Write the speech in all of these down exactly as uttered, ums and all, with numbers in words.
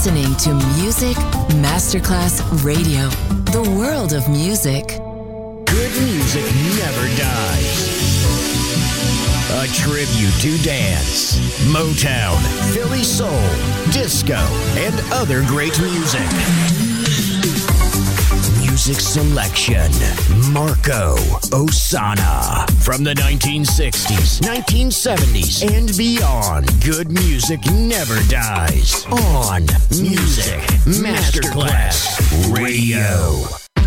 listening to Music Masterclass Radio, the world of music. Good music never dies. A tribute to dance, Motown, Philly soul, disco, and other great music. Music selection, Marco Ossanna. From the nineteen sixties, nineteen seventies, and beyond, good music never dies. On Music Masterclass Radio.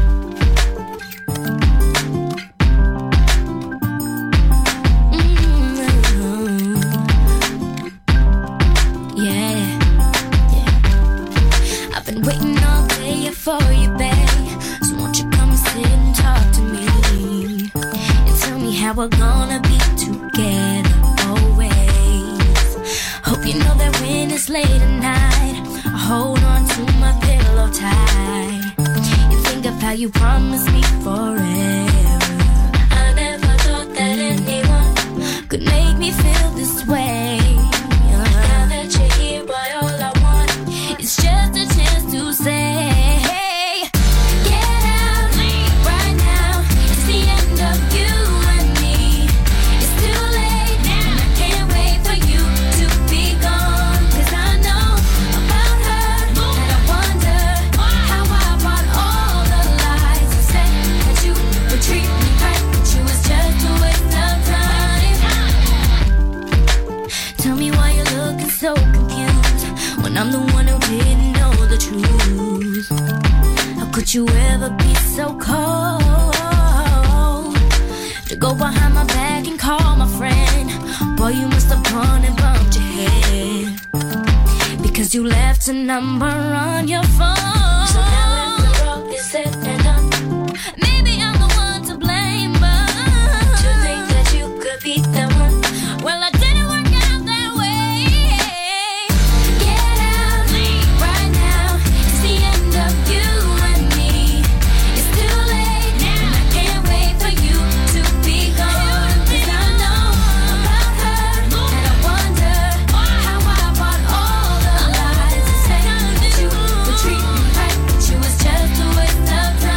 Waiting all day for you, babe. So won't you come and sit and talk to me and tell me how we're gonna be together always. Hope you know that when it's late at night, I hold on to my pillow tight. You think of how you promised me forever. I never thought that anyone could make me feel this way. Now that you're here, boy, all I want is just a chance to say, hey, get out, leave right now. It's the end of you and me. It's too late now. I can't wait for you to be gone. Cause I know about her, and I wonder how I bought all the lies and said that you would treat me right, but you was just a waste of time. Tell me why you're looking so confused when I'm the one who didn't know the truth. How could you ever be so cold to go behind my back and call my friend? Boy, you must have gone and bumped your head because you left a number on your phone. So now if the wrong is said and done, maybe I'm the one to blame, but to think that you could be the one, well, I didn't work out that way. Get out, leave right now. It's the end of you and me. It's too late now. I can't wait for you to be gone. Cause I know about her, and I wonder how I bought all the lies and said that you would treat me right, but you was just a waste of time.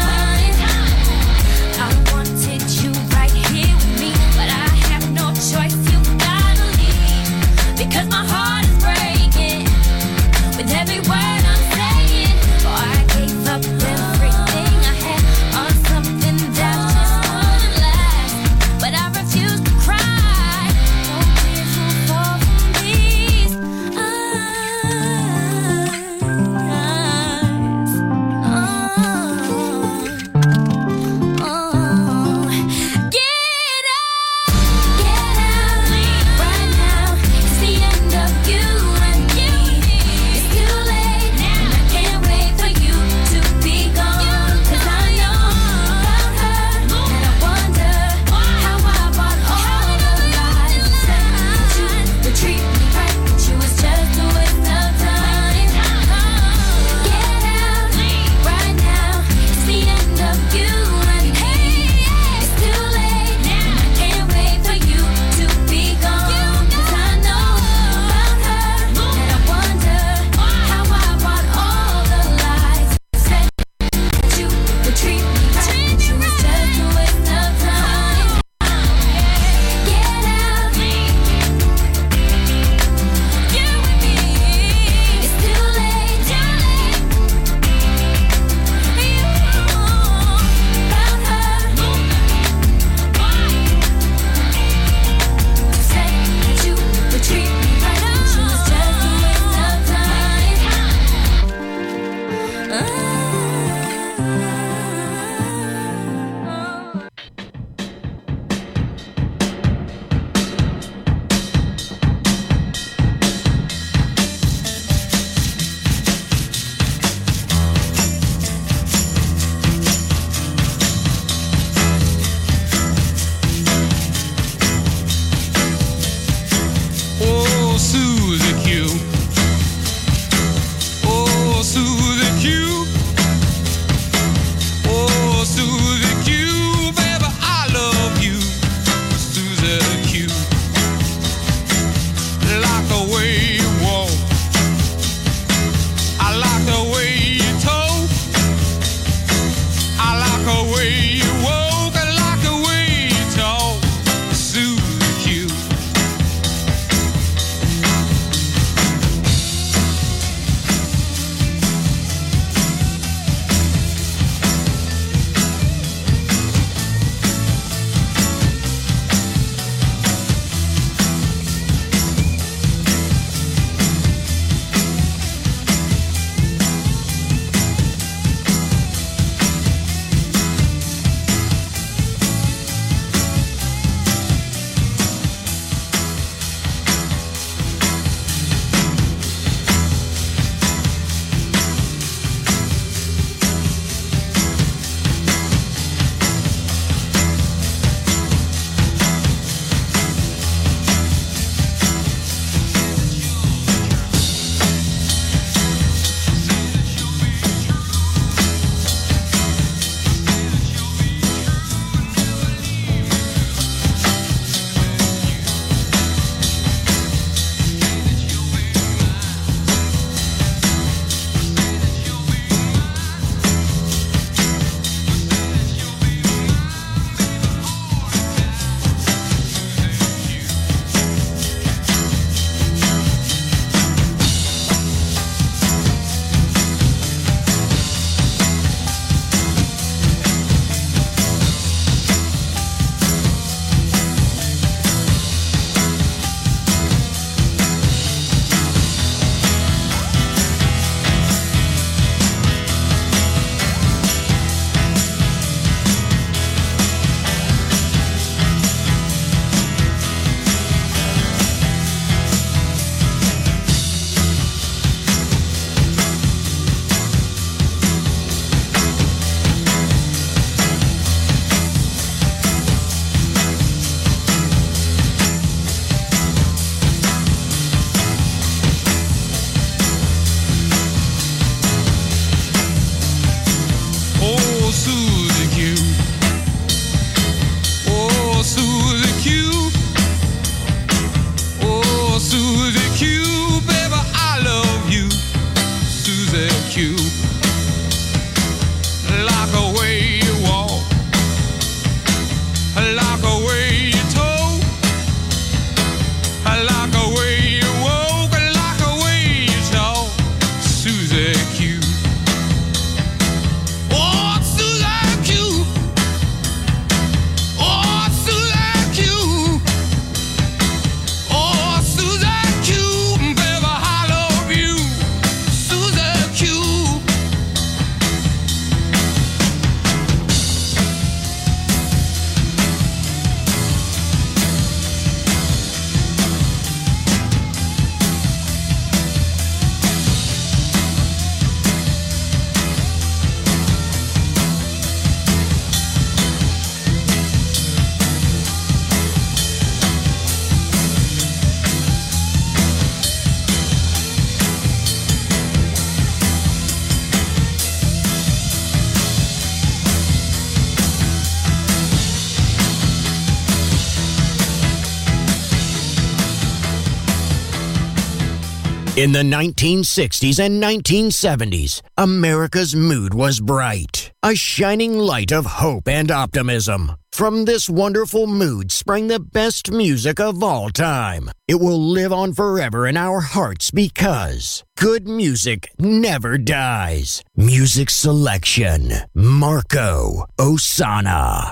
In the nineteen sixties and nineteen seventies, America's mood was bright, a shining light of hope and optimism. From this wonderful mood sprang the best music of all time. It will live on forever in our hearts because good music never dies. Music selection, Marco Ossanna.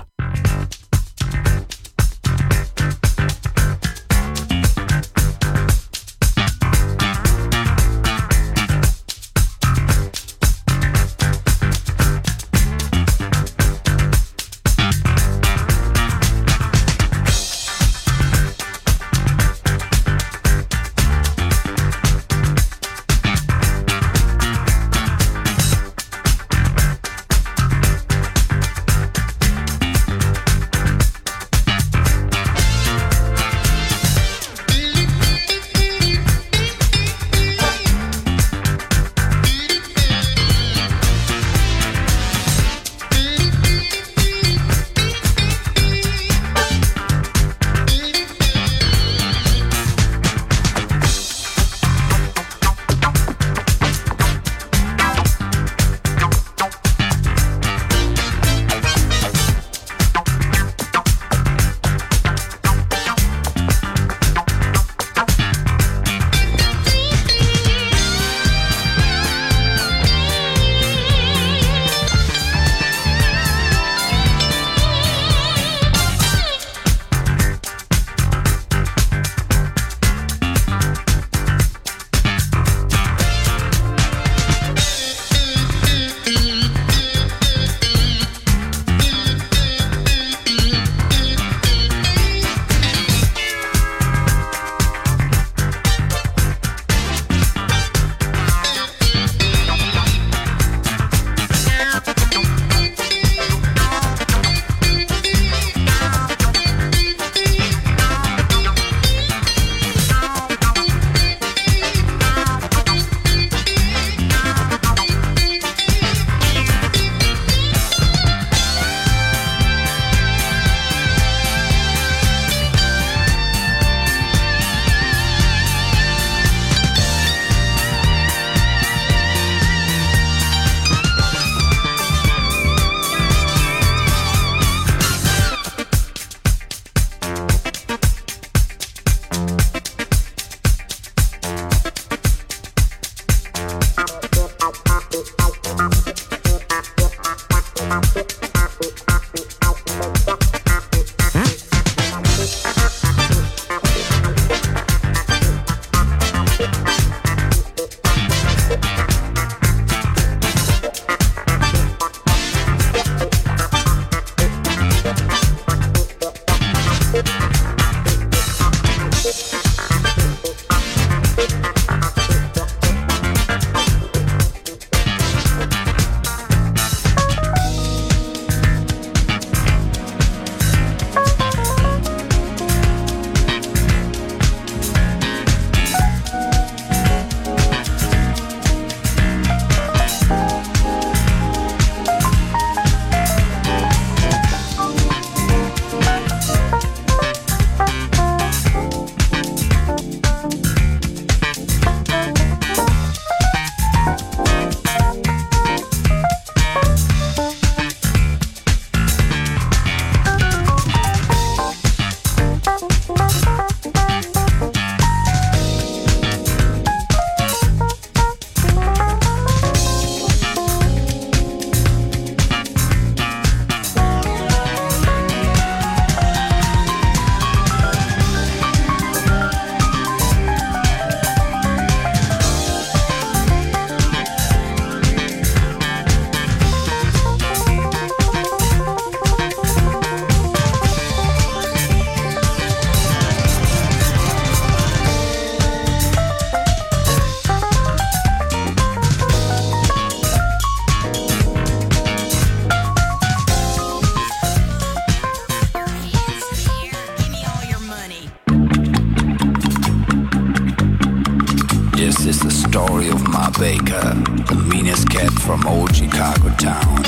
story of Ma Baker, the meanest cat from old Chicago town.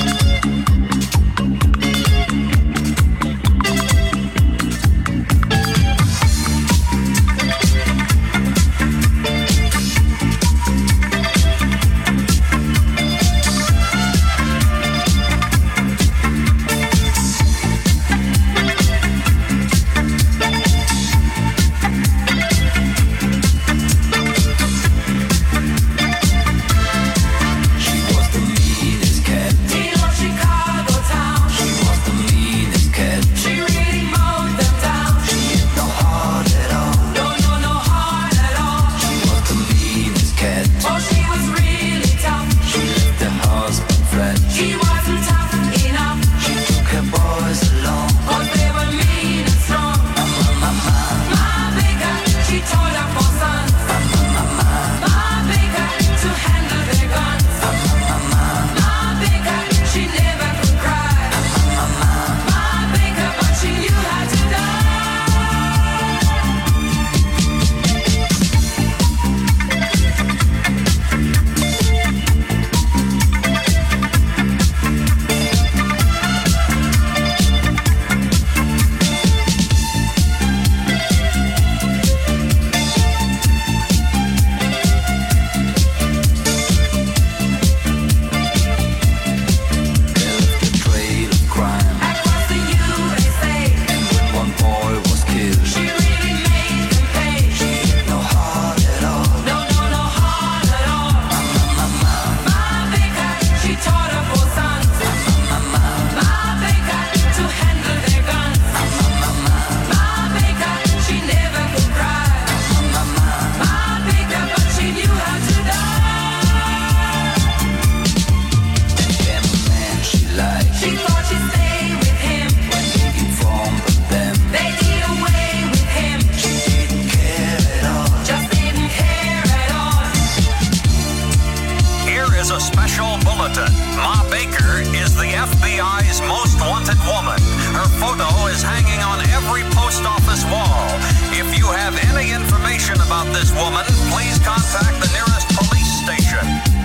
bulletin. Ma Baker is the F B I's most wanted woman. Her photo is hanging on every post office wall. If you have any information about this woman, please contact the nearest police station.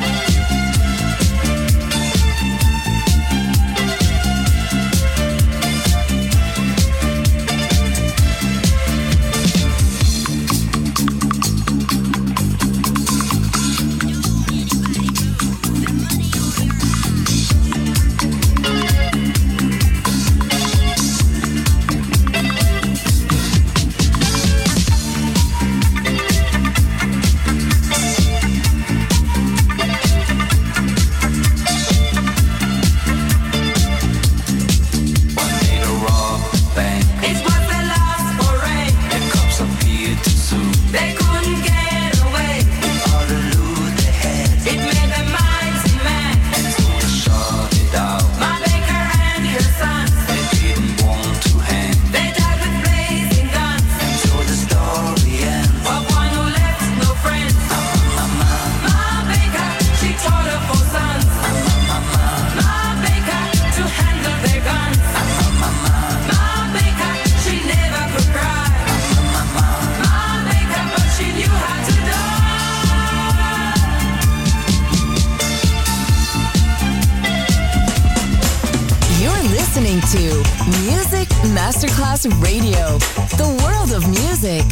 Masterclass Radio, the world of music.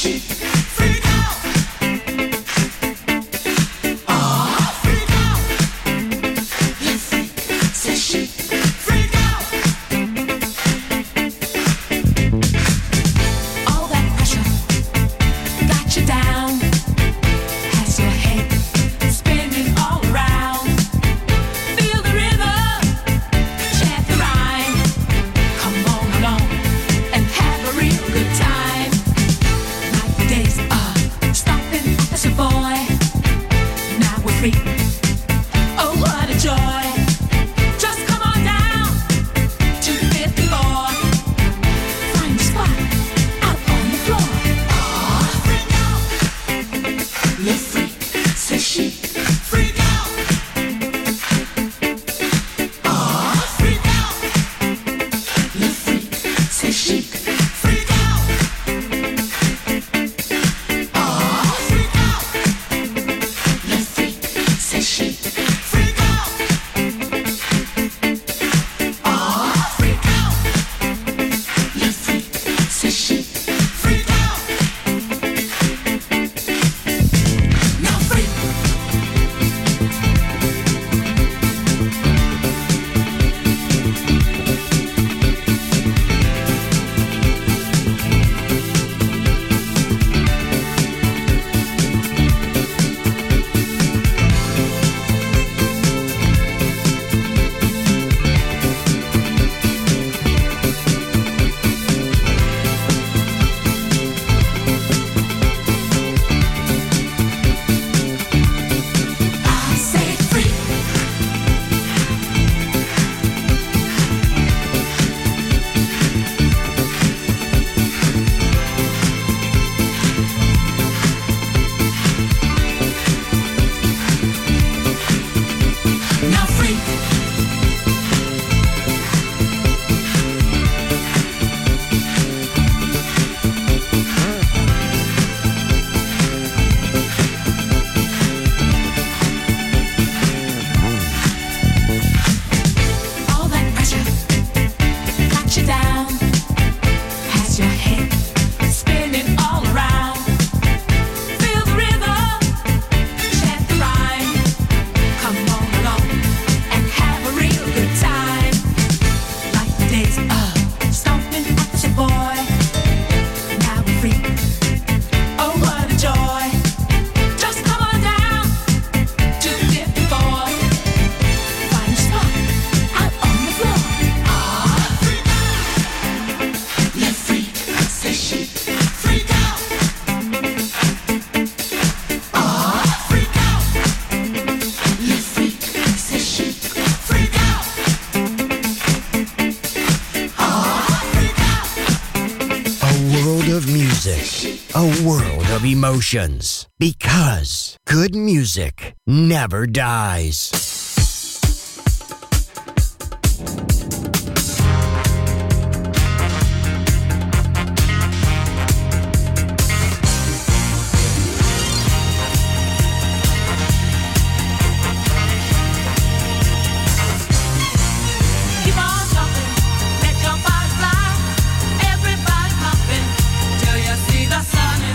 Emotions, because good music never dies.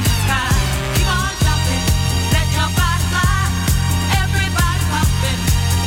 Everybody pumping.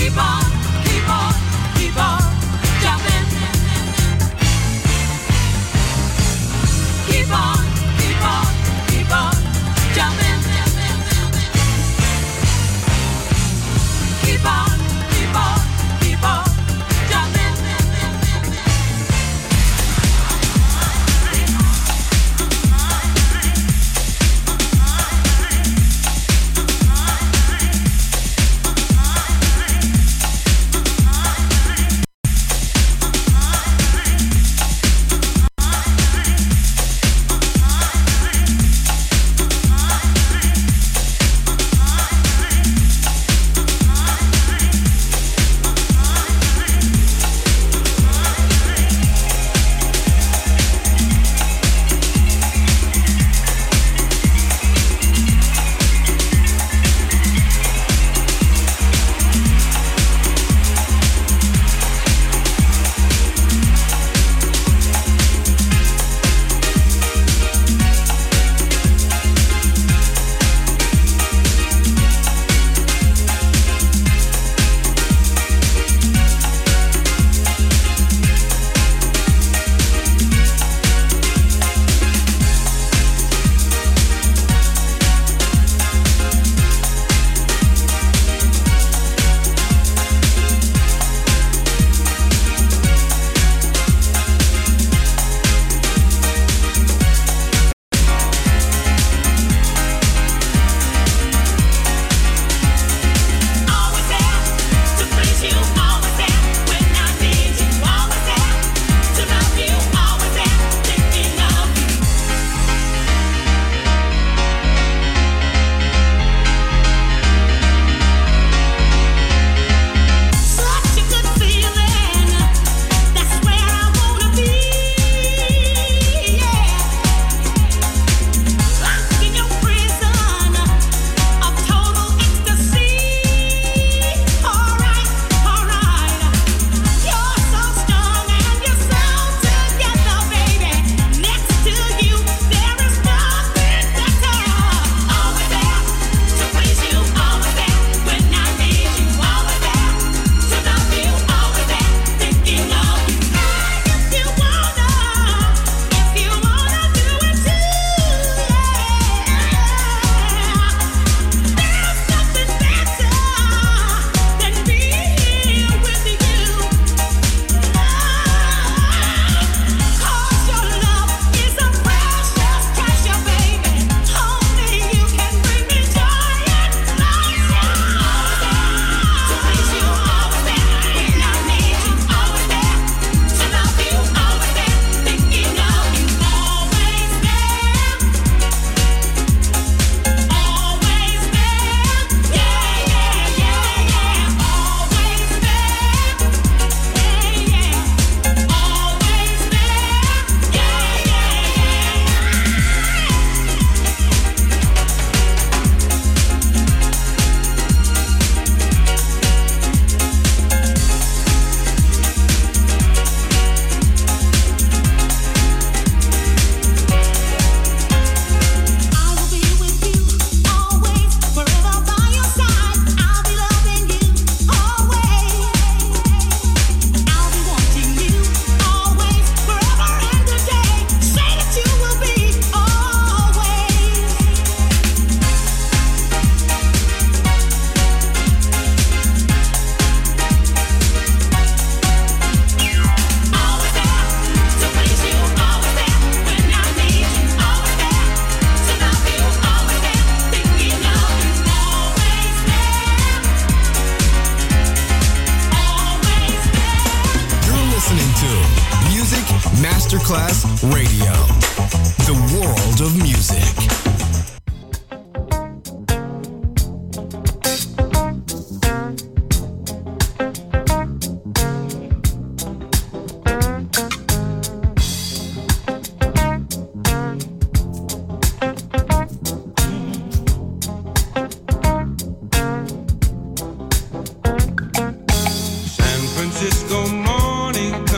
Masterclass Radio, the world of music.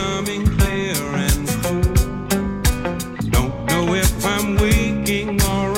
Don't know if I'm waking or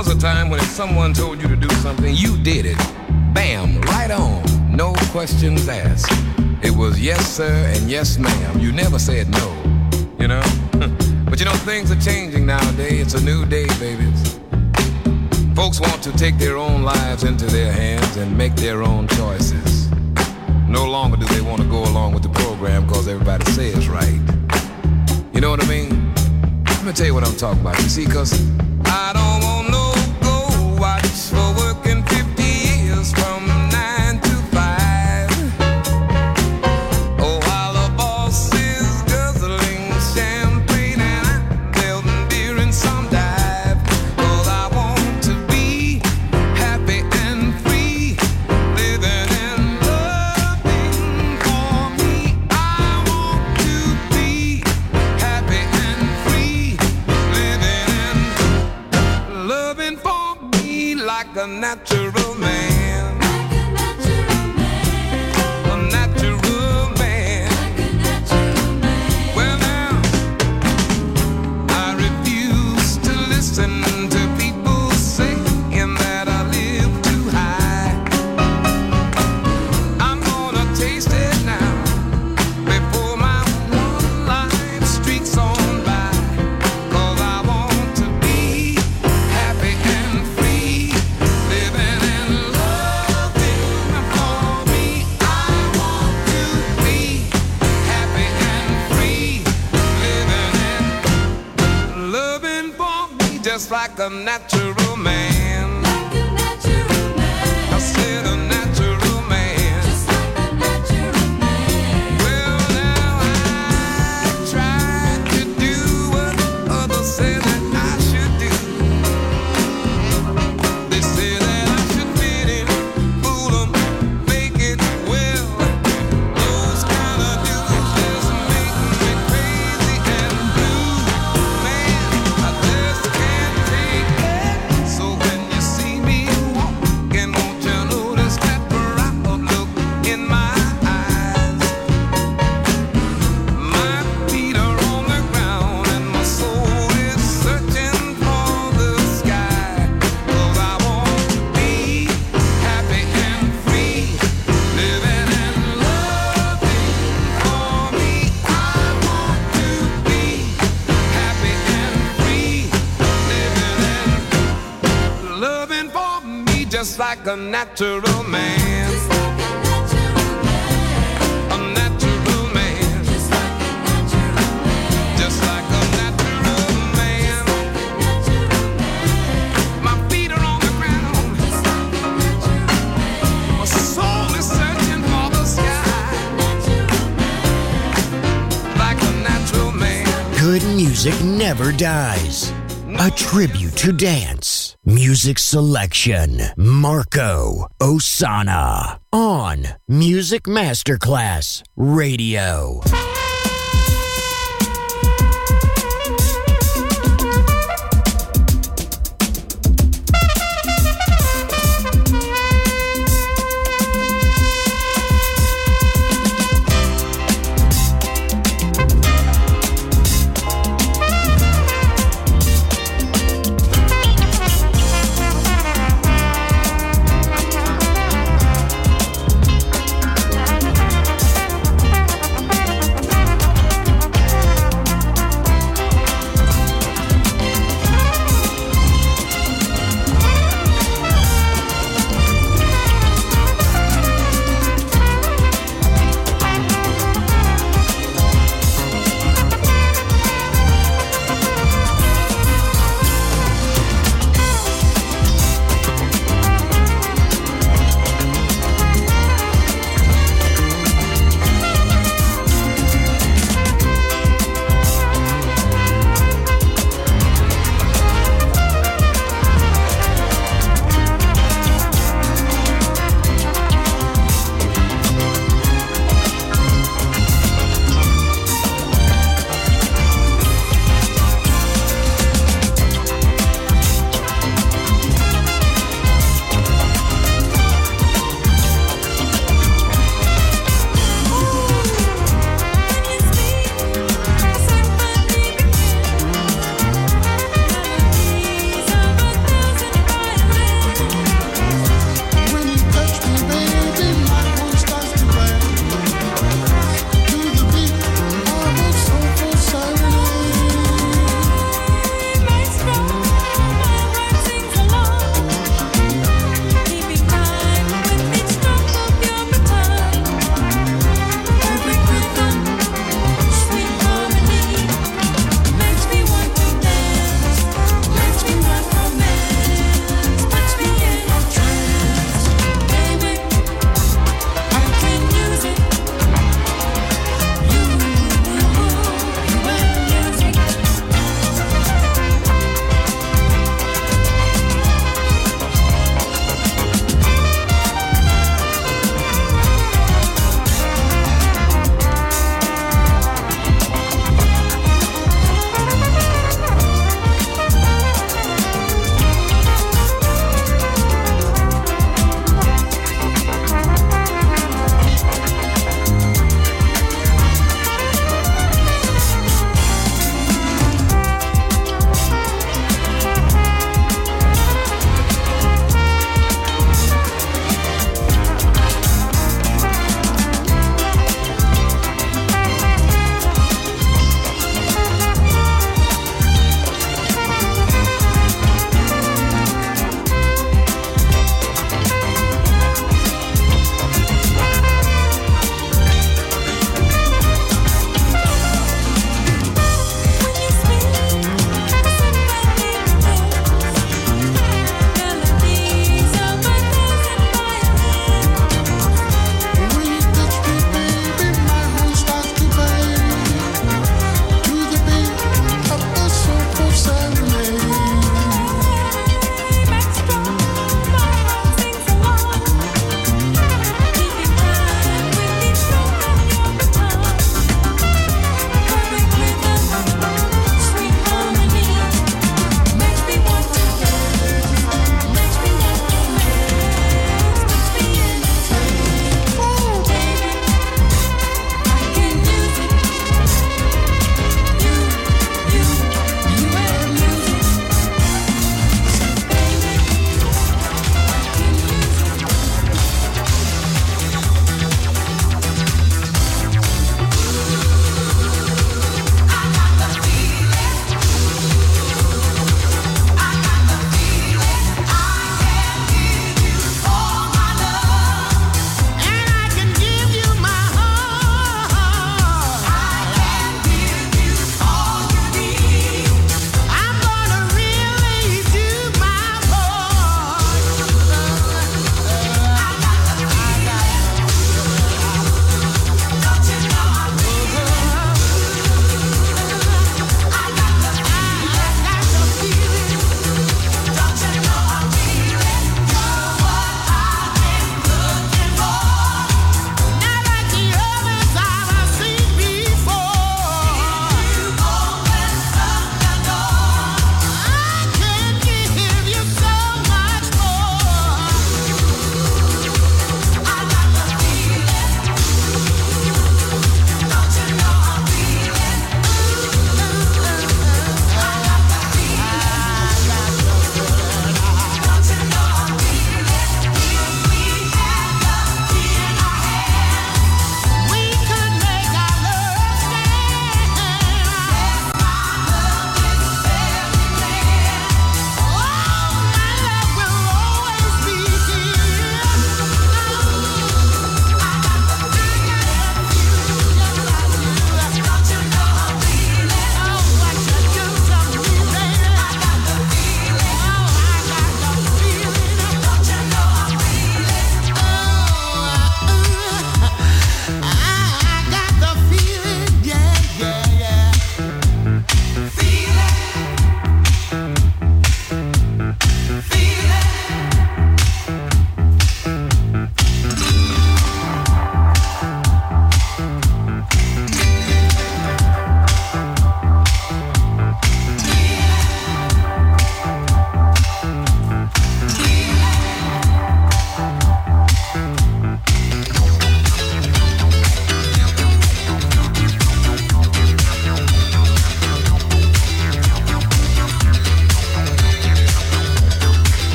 was a time when if someone told you to do something, you did it. Bam, right on, no questions asked. It was yes sir and yes ma'am. You never said no, you know? But you know, things are changing nowadays. It's a new day, babies. Folks want to take their own lives into their hands and make their own choices. No longer do they want to go along with the program because everybody says right. You know what I mean? Let me tell you what I'm talking about. You see, because I don't want no go watch for working fifty years from nine to five. Oh, while the boss is guzzling champagne and I'm building beer in some dive. Cause I want to be happy and free, living and loving for me. I want to be happy and free, living and loving for me like a natural man. Like a natural man. A natural man. Like a natural man. Well now, I refuse to listen to people saying that I live too high. I'm gonna taste it now before my one life streaks on by. Cause I want to be happy and free, living and loving for me. I want to be happy and free, living and loving for me just like a natural man. Like a natural man. I said a natural man. Just like a natural man. Well now I tried to do what others say that I should do. They say that I should fit in, fool 'em, make it well. Those kind of dudes just make me crazy and blue. Man, I just can't take it. So when you see me walking, won't you notice that proud look in my eyes? My feet are on the ground and my soul is searching for the sky. Cause I want to be happy and free, living and loving for me. I want to be happy and free, living and loving for me just like a natural man. Just like a natural man. A natural man. Just like a natural man. Just like a natural man. My feet are on the ground. Just like a natural man. My soul is searching for the sky. Like a natural man. Good music never dies. A tribute to dance. Music selection. Marco Ossanna. On Music Masterclass Radio. Thank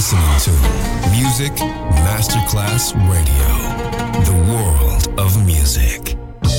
listening to Music Masterclass Radio, the world of music.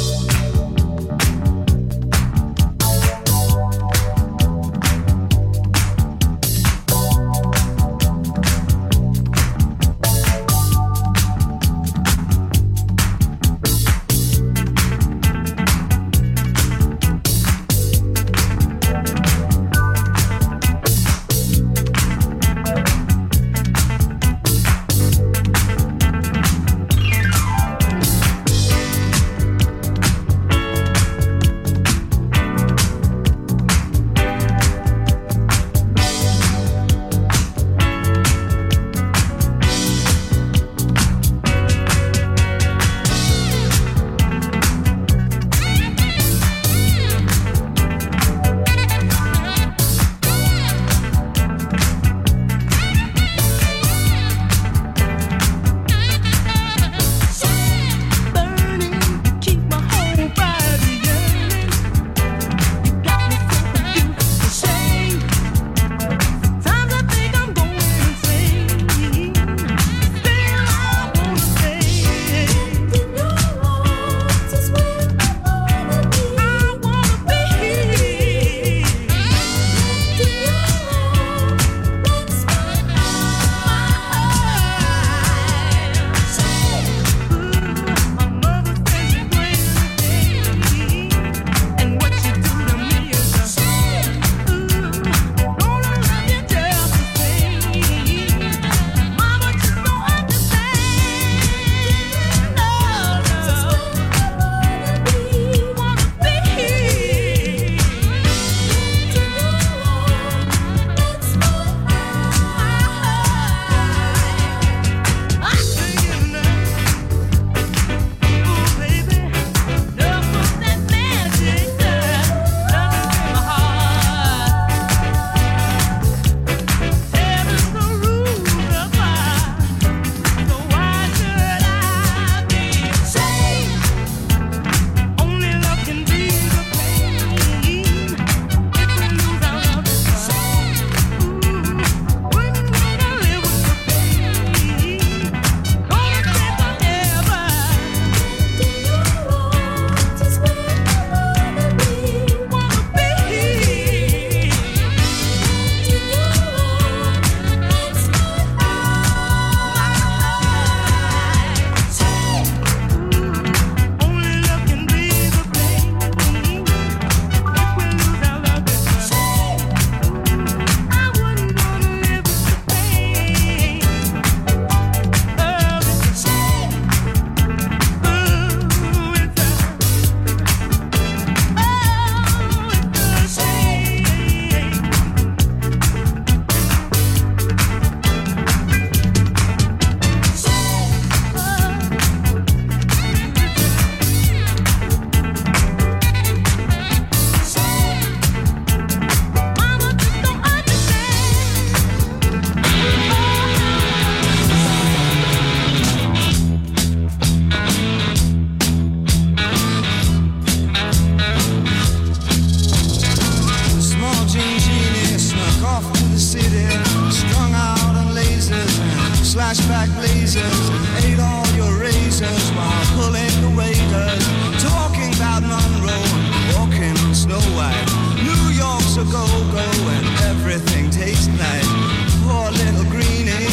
flashback blazers, ate all your razors while pulling the waiters, talking about Monroe, walking on Snow White. New York's a go-go and everything tastes nice. Poor little greenie.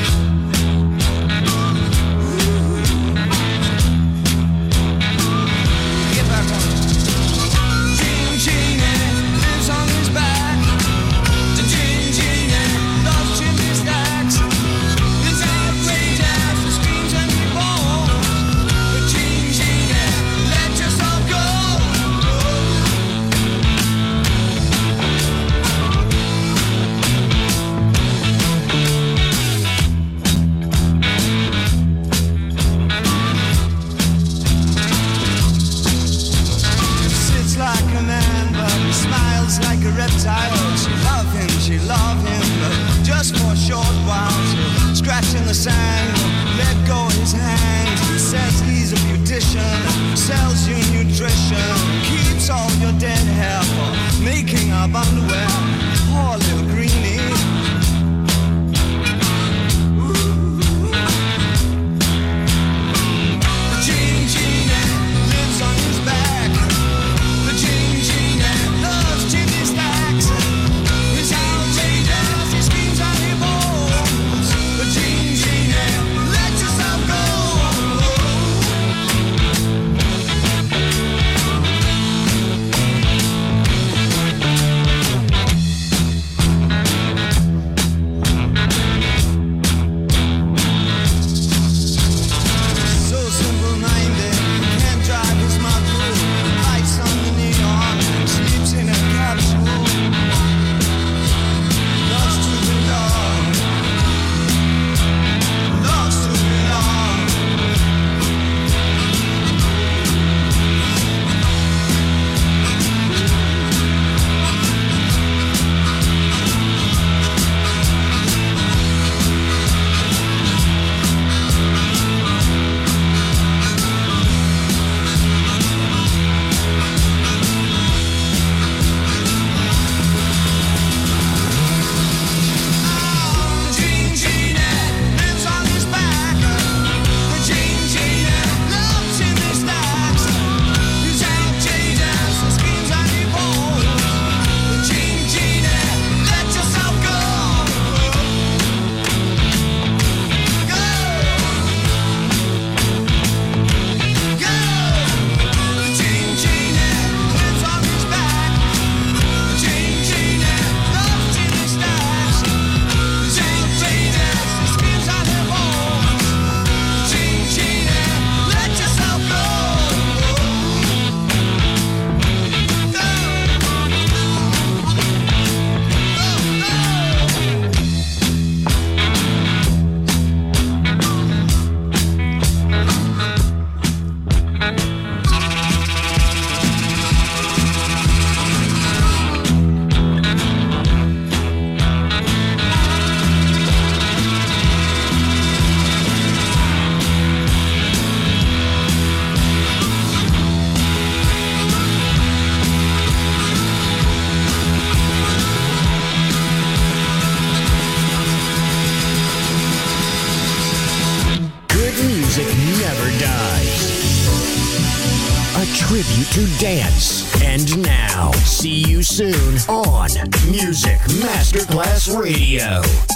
Get back on it. Gene Genie lives on his back. Gene Genie loves chimney stacks. His outrageous screams and he falls. But Gene Genie, let yourself go. Sits like a man, but he smiles like a reptile. She love him, she love him, but just for a short while. She'll scratch in the sand, let go his hand. He says he's a beautician, sells you nutrition, keeps all your dead hair for making up underwear. Poor little greenie. music never dies. A tribute to dance. And now, see you soon on Music Masterclass Radio.